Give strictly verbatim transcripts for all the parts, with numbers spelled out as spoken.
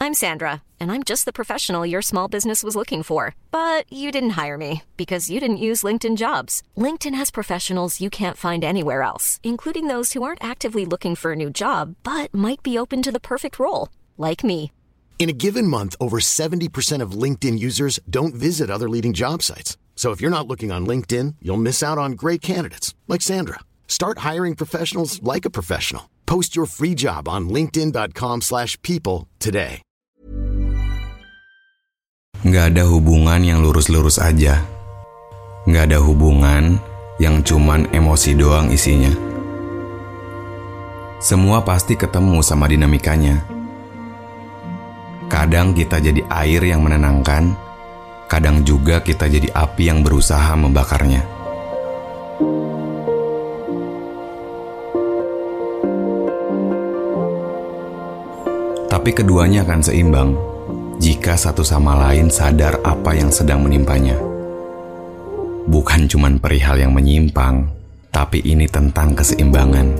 I'm Sandra, and I'm just the professional your small business was looking for. But you didn't hire me because you didn't use LinkedIn Jobs. LinkedIn has professionals you can't find anywhere else, including those who aren't actively looking for a new job, but might be open to the perfect role, like me. In a given month, over seventy percent of LinkedIn users don't visit other leading job sites. So if you're not looking on LinkedIn, you'll miss out on great candidates, like Sandra. Start hiring professionals like a professional. Post your free job on linkedin.com slash people today. Nggak ada hubungan yang lurus-lurus aja. Nggak ada hubungan yang cuman emosi doang isinya. Semua pasti ketemu sama dinamikanya. Kadang kita jadi air yang menenangkan, kadang juga kita jadi api yang berusaha membakarnya. Tapi keduanya akan seimbang jika satu sama lain sadar apa yang sedang menimpanya. Bukan cuman perihal yang menyimpang, tapi ini tentang keseimbangan.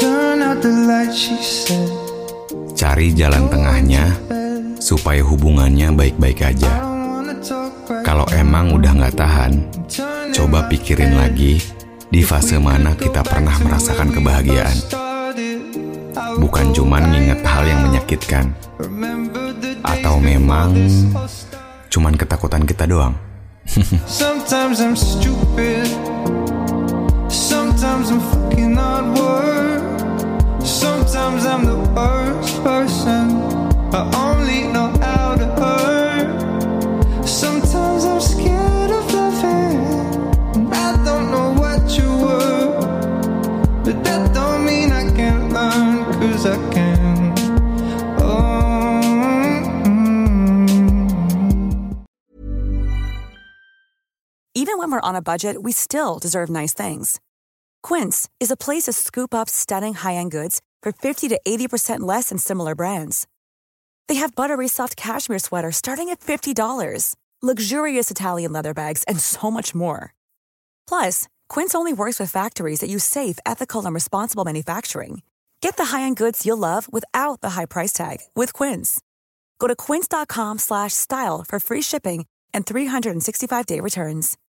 Cari jalan tengahnya supaya hubungannya baik-baik aja. Kalau emang udah gak tahan, coba pikirin lagi di fase mana kita pernah merasakan kebahagiaan. Bukan cuman nginget hal yang menyakitkan. Atau memang cuman ketakutan kita doang. Sometimes I'm stupid. Sometimes I'm fucking awkward. Sometimes I'm the worst person. I only know how to hurt. Sometimes I'm scared of loving. I don't know what you were, but that don't mean I can't learn, 'cause I can. Oh. Even when we're on a budget, we still deserve nice things. Quince is a place to scoop up stunning high-end goods for fifty to eighty percent less than similar brands. They have buttery soft cashmere sweaters starting at fifty dollars, luxurious Italian leather bags, and so much more. Plus, Quince only works with factories that use safe, ethical, and responsible manufacturing. Get the high-end goods you'll love without the high price tag with Quince. Go to quince.com slash style for free shipping and three sixty-five day returns.